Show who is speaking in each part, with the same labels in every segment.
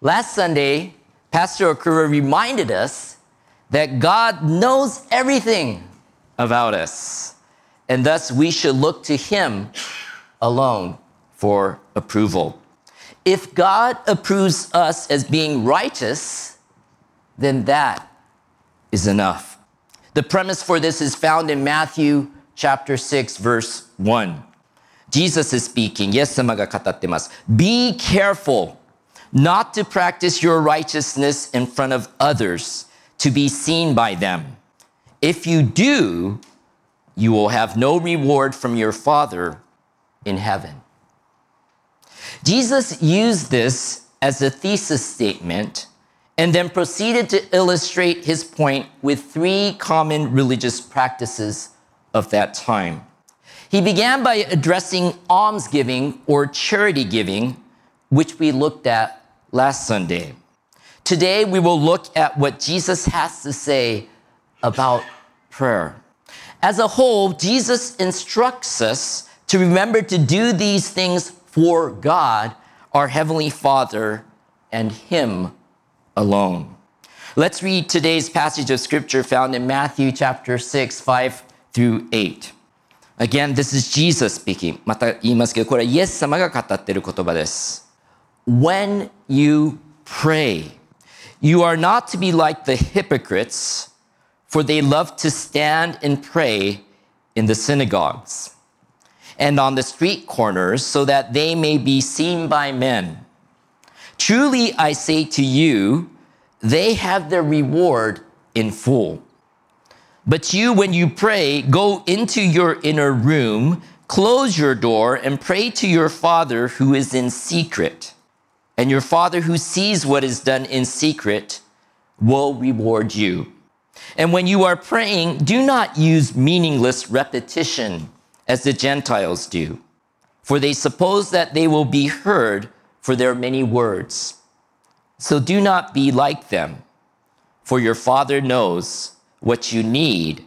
Speaker 1: Last Sunday, Pastor Okura reminded us that God knows everything about us, and thus we should look to Him alone for approval. If God approves us as being righteous, then that is enough. The premise for this is found in Matthew chapter 6, verse 1. Jesus is speaking. イエス様が語ってます。Be careful not to practice your righteousness in front of others to be seen by them. If you do, you will have no reward from your Father in heaven. Jesus used this as a thesis statement and then proceeded to illustrate his point with three common religious practices of that time. He began by addressing almsgiving or charity giving, which we looked at last Sunday. Today, we will look at what Jesus has to say about prayer. As a whole, Jesus instructs us to remember to do these things for God, our Heavenly Father, and Him alone. Let's read today's passage of Scripture found in Matthew chapter 6, 5 through 8. Again, this is Jesus speaking. また言いますけど、これはイエス様が語っている言葉です。When you pray, you are not to be like the hypocrites, for they love to stand and pray in the synagogues and on the street corners so that they may be seen by men. Truly, I say to you, they have their reward in full. But you, when you pray, go into your inner room, close your door, and pray to your Father who is in secret. And your Father who sees what is done in secret will reward you. And when you are praying, do not use meaningless repetition as the Gentiles do, for they suppose that they will be heard for their many words. So do not be like them, for your Father knows what you need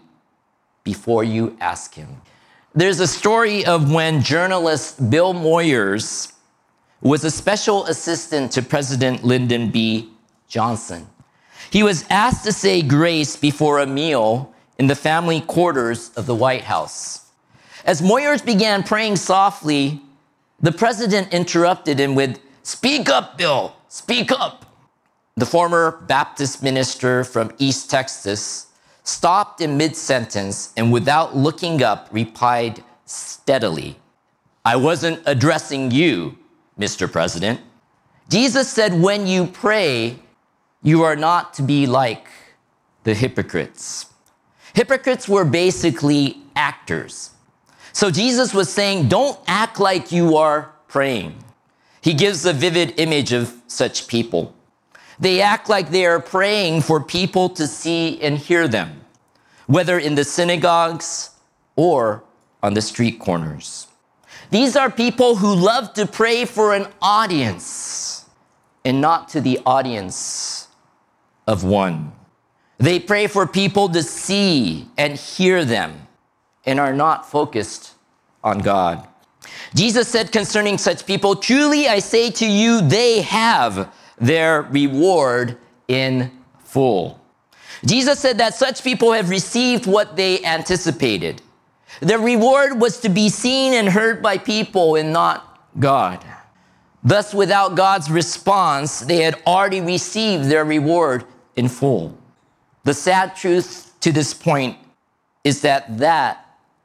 Speaker 1: before you ask Him. There's a story of when journalist Bill Moyers was a special assistant to President Lyndon B. Johnson. He was asked to say grace before a meal in the family quarters of the White House. As Moyers began praying softly, the president interrupted him with, "Speak up, Bill, speak up." The former Baptist minister from East Texas stopped in mid-sentence and without looking up replied steadily, "I wasn't addressing you, Mr. President." Jesus said, when you pray, you are not to be like the hypocrites. Hypocrites were basically actors. So Jesus was saying, don't act like you are praying. He gives a vivid image of such people. They act like they are praying for people to see and hear them, whether in the synagogues or on the street corners. These are people who love to pray for an audience and not to the audience of one. They pray for people to see and hear them and are not focused on God. Jesus said concerning such people, "Truly I say to you, they have their reward in full." Jesus said that such people have received what they anticipated. Their reward was to be seen and heard by people and not God. Thus, without God's response, they had already received their reward in full. The sad truth to this point is that that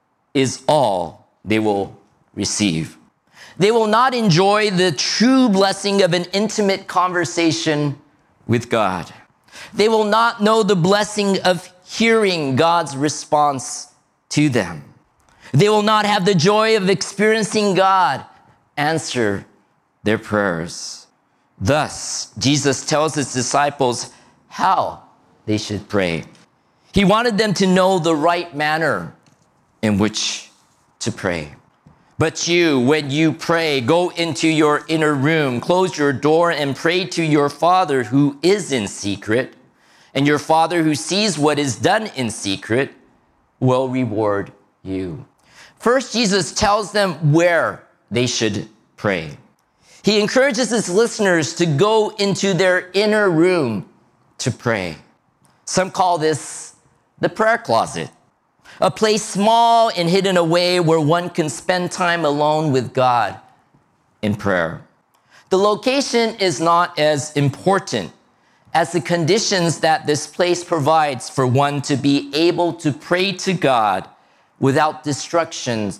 Speaker 1: is all they will receive. They will not enjoy the true blessing of an intimate conversation with God. They will not know the blessing of hearing God's response to them. They will not have the joy of experiencing God answer their prayers. Thus, Jesus tells his disciples how they should pray. He wanted them to know the right manner in which to pray. But you, when you pray, go into your inner room, close your door, and pray to your Father who is in secret, and your Father who sees what is done in secret will reward you. First, Jesus tells them where they should pray. He encourages his listeners to go into their inner room to pray. Some call this the prayer closet, a place small and hidden away where one can spend time alone with God in prayer. The location is not as important as the conditions that this place provides for one to be able to pray to God without distractions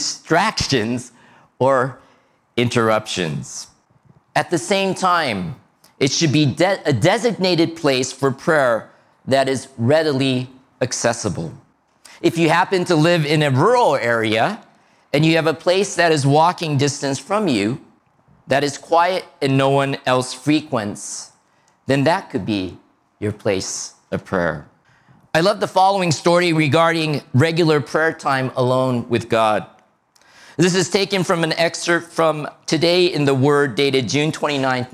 Speaker 1: or interruptions. At the same time, it should be a designated place for prayer that is readily accessible. If you happen to live in a rural area and you have a place that is walking distance from you, that is quiet and no one else frequents, then that could be your place of prayer. I love the following story regarding regular prayer time alone with God. This is taken from an excerpt from Today in the Word, dated June 29,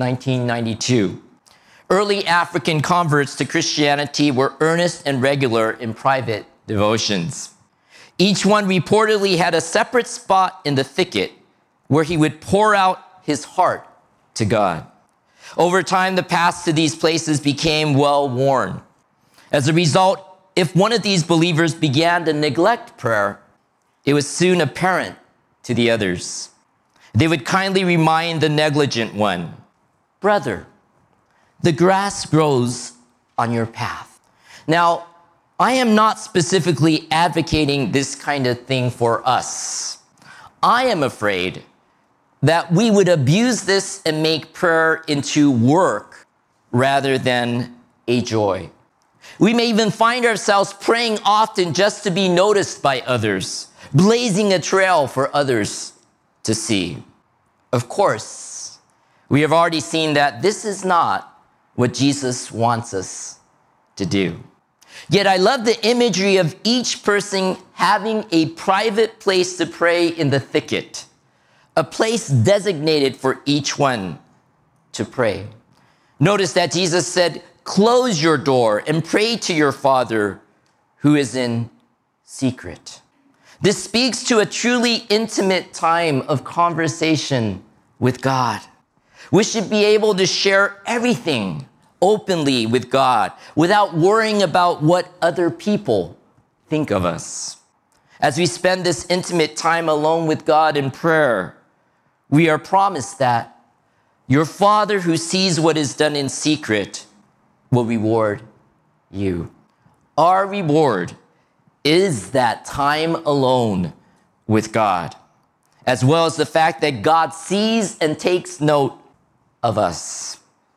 Speaker 1: 1992. Early African converts to Christianity were earnest and regular in private devotions. Each one reportedly had a separate spot in the thicket where he would pour out his heart to God. Over time, the paths to these places became well-worn. As a result, if one of these believers began to neglect prayer, it was soon apparent to the others. They would kindly remind the negligent one, "Brother, the grass grows on your path." Now, I am not specifically advocating this kind of thing for us. I am afraid that we would abuse this and make prayer into work rather than a joy. We may even find ourselves praying often just to be noticed by others, blazing a trail for others to see. Of course, we have already seen that this is not what Jesus wants us to do. Yet I love the imagery of each person having a private place to pray in the thicket, a place designated for each one to pray. Notice that Jesus said, "Close your door and pray to your Father who is in secret." This speaks to a truly intimate time of conversation with God. We should be able to share everything openly with God without worrying about what other people think of us. As we spend this intimate time alone with God in prayer, we are promised that your Father who sees what is done in secret will reward you. Our reward is that time alone with God, as well as the fact that God sees and takes note of us.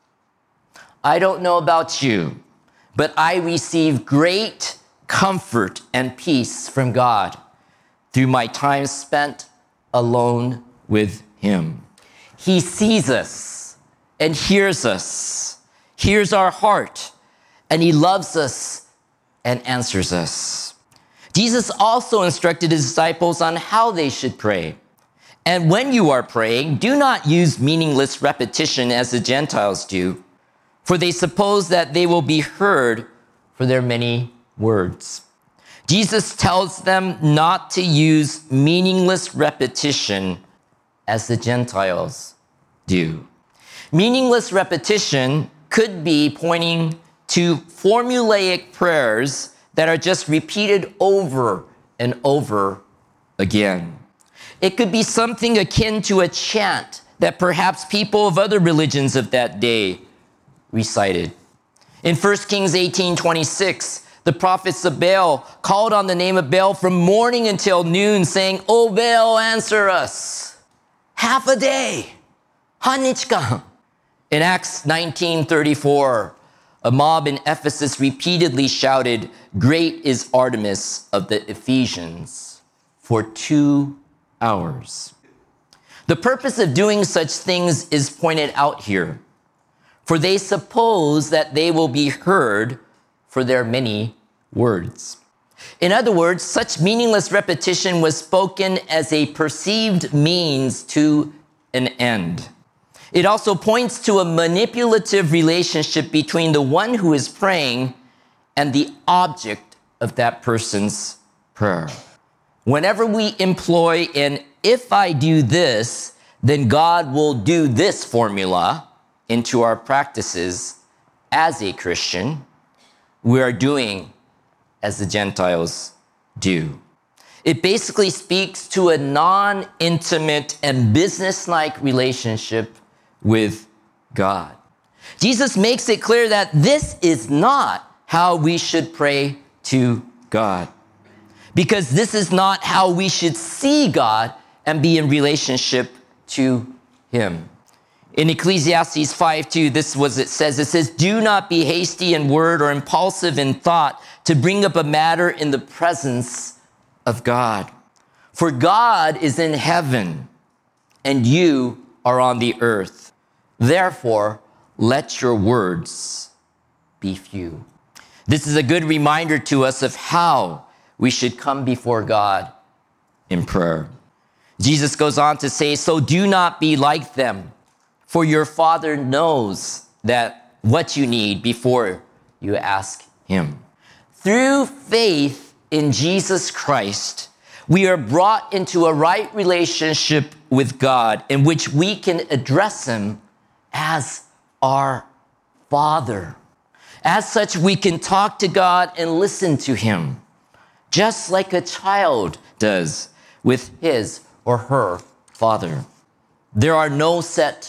Speaker 1: I don't know about you, but I receive great comfort and peace from God through my time spent alone with Him. He sees us and hears us, hears our heart, and He loves us and answers us. Jesus also instructed His disciples on how they should pray. And when you are praying, do not use meaningless repetition as the Gentiles do, for they suppose that they will be heard for their many words. Jesus tells them not to use meaningless repetition as the Gentiles do. Meaningless repetition could be pointing to formulaic prayers that are just repeated over and over again. It could be something akin to a chant that perhaps people of other religions of that day recited. In 1 Kings 18:26, the prophets of Baal called on the name of Baal from morning until noon, saying, "O Baal, answer us. Half a day. Hanichka." In Acts 19:34, a mob in Ephesus repeatedly shouted, "Great is Artemis of the Ephesians," for 2 hours. The purpose of doing such things is pointed out here, for they suppose that they will be heard for their many words. In other words, such meaningless repetition was spoken as a perceived means to an end. It also points to a manipulative relationship between the one who is praying and the object of that person's prayer. Whenever we employ an "if I do this, then God will do this formula into our practices as a Christian. We are doing as the Gentiles do. It basically speaks to a non-intimate and business-like relationship with God. Jesus makes it clear that this is not how we should pray to God, because this is not how we should see God and be in relationship to Him. In Ecclesiastes 5:2, this is what it says. It says, "Do not be hasty in word or impulsive in thought to bring up a matter in the presence of God. For God is in heaven, and you are on the earth. Therefore, let your words be few." This is a good reminder to us of how we should come before God in prayer. Jesus goes on to say, "So do not be like them, for your Father knows that what you need before you ask Him." Through faith in Jesus Christ, we are brought into a right relationship with God in which we can address Him as our Father. As such, we can talk to God and listen to Him, just like a child does with his or her father. There are no set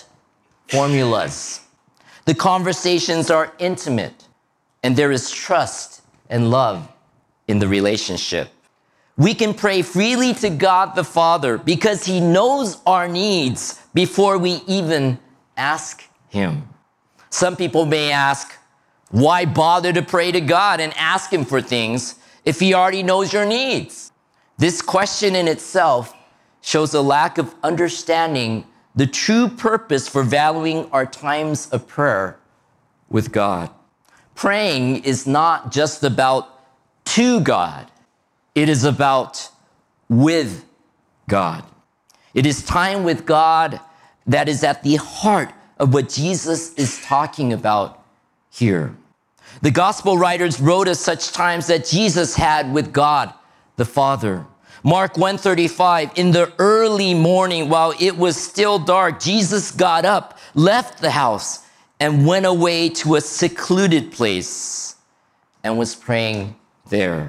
Speaker 1: formulas. The conversations are intimate, and there is trust and love in the relationship. We can pray freely to God the Father because He knows our needs before we even ask Him. Some people may ask, why bother to pray to God and ask Him for things if He already knows your needs? This question in itself shows a lack of understanding the true purpose for valuing our times of prayer with God. Praying is not just about to God. It is about with God. It is time with God that is at the heart of what Jesus is talking about here. The gospel writers wrote of such times that Jesus had with God the Father. Mark 1:35, in the early morning while it was still dark, Jesus got up, left the house, and went away to a secluded place and was praying there.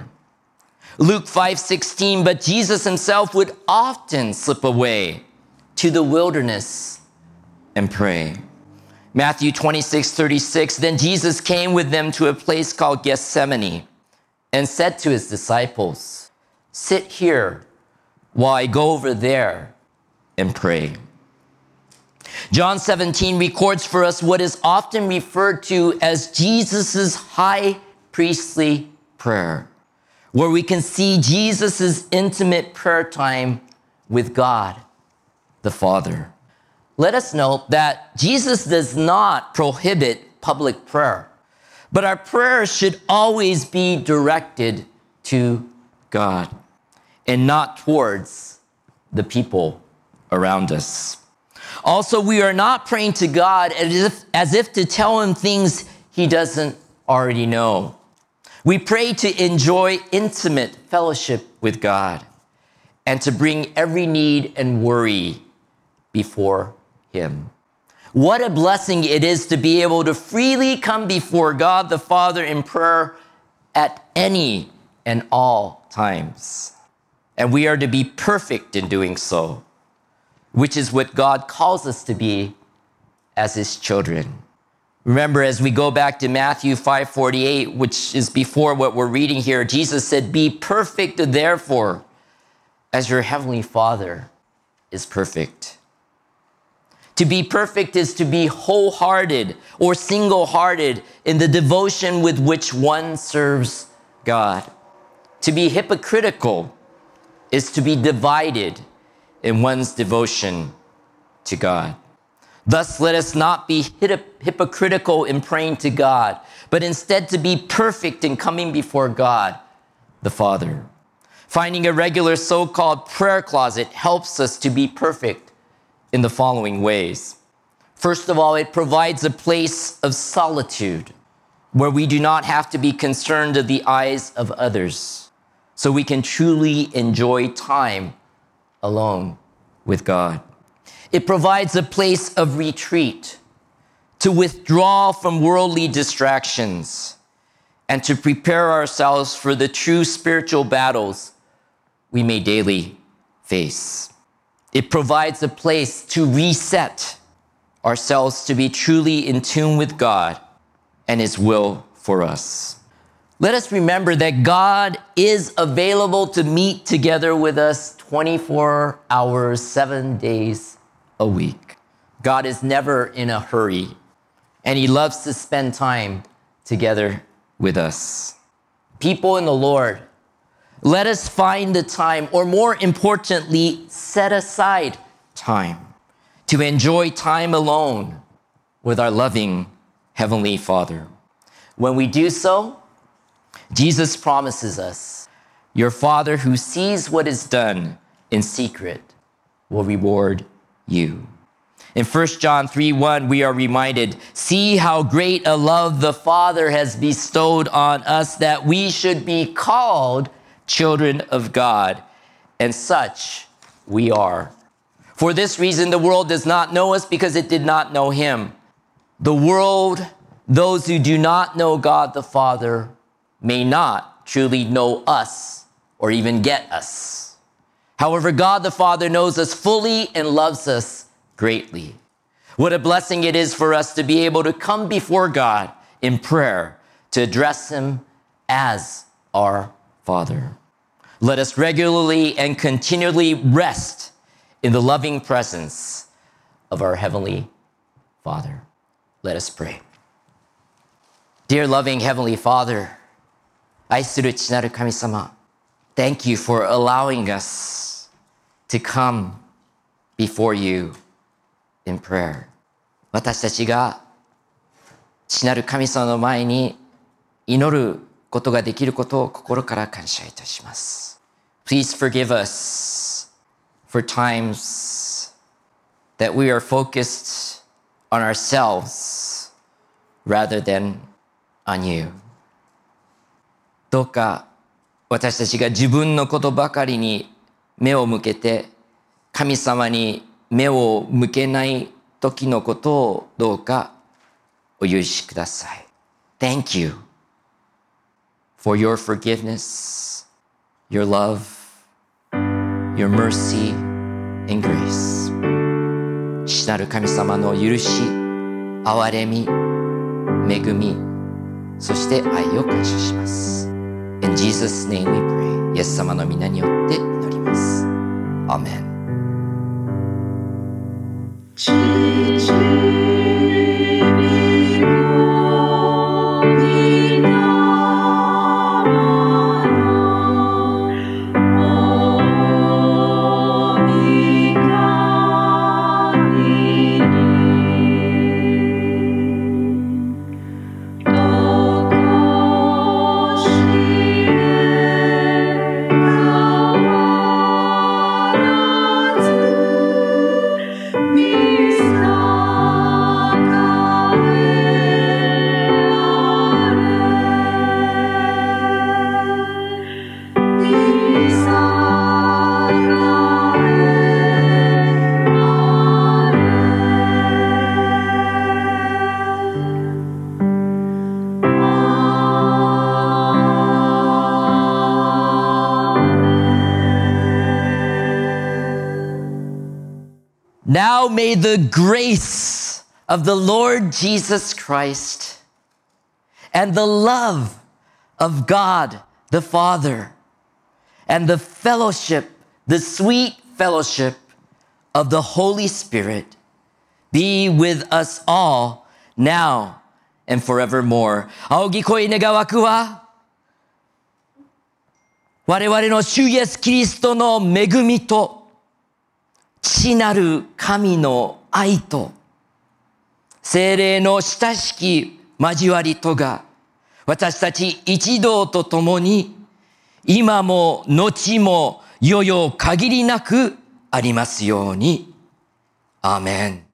Speaker 1: Luke 5:16, but Jesus Himself would often slip away to the wilderness and pray. Matthew 26:36, then Jesus came with them to a place called Gethsemane and said to His disciples, sit here while I go over there and pray. John 17 records for us what is often referred to as Jesus' high priestly prayer, where we can see Jesus' intimate prayer time with God the Father. Let us note that Jesus does not prohibit public prayer, but our prayers should always be directed to God and not towards the people around us. Also, we are not praying to God as if to tell Him things He doesn't already know. We pray to enjoy intimate fellowship with God and to bring every need and worry before Him. What a blessing it is to be able to freely come before God the Father in prayer at any and all times. And we are to be perfect in doing so, which is what God calls us to be as His children. Remember, as we go back to Matthew 5:48, which is before what we're reading here, Jesus said, be perfect, therefore, as your heavenly Father is perfect. To be perfect is to be wholehearted or single-hearted in the devotion with which one serves God. To be hypocritical is to be divided in one's devotion to God. Thus, let us not be hypocritical in praying to God, but instead to be perfect in coming before God the Father. Finding a regular so-called prayer closet helps us to be perfect in the following ways. First of all, it provides a place of solitude where we do not have to be concerned of the eyes of others, so we can truly enjoy time alone with God. It provides a place of retreat, to withdraw from worldly distractions, and to prepare ourselves for the true spiritual battles we may daily face. It provides a place to reset ourselves to be truly in tune with God and His will for us. Let us remember that God is available to meet together with us 24 hours, 7 days a week. God is never in a hurry, and He loves to spend time together with us. People in the Lord, let us find the time, or more importantly, set aside time to enjoy time alone with our loving Heavenly Father. When we do so, Jesus promises us, your Father who sees what is done in secret will reward you. In 1 John 3:1, we are reminded, see how great a love the Father has bestowed on us that we should be called children of God, and such we are. For this reason, the world does not know us because it did not know Him. The world, those who do not know God the Father, may not truly know us or even get us. However, God the Father knows us fully and loves us greatly. What a blessing it is for us to be able to come before God in prayer to address Him as our Father. Let us regularly and continually rest in the loving presence of our Heavenly Father. Let us pray. Dear loving Heavenly Father, 愛する父なる神様, thank you for allowing us to come before you in prayer. 私たちが父なる神様の前に祈ることができることを心から感謝いたします。Please forgive us for times that we are focused on ourselves rather than on you. どうか私たちが自分のことばかりに目を向けて神様に目を向けない時のことをどうかお許しください。Thank you for your forgiveness, your love, your mercy and grace. 父なる神様の許し、憐れみ、恵み、そして愛を感謝します。In Jesus' name we pray. イエス様の皆によって祈ります。アーメン。Now may the grace of the Lord Jesus Christ and the love of God the Father and the fellowship, the sweet fellowship of the Holy Spirit be with us all now and forevermore. 仰ぎ声願わくは我々の主イエスキリストの恵みと父なる神の愛と聖霊の親しき交わりとが私たち一同と共に今も後も世々限りなくありますように。アーメン。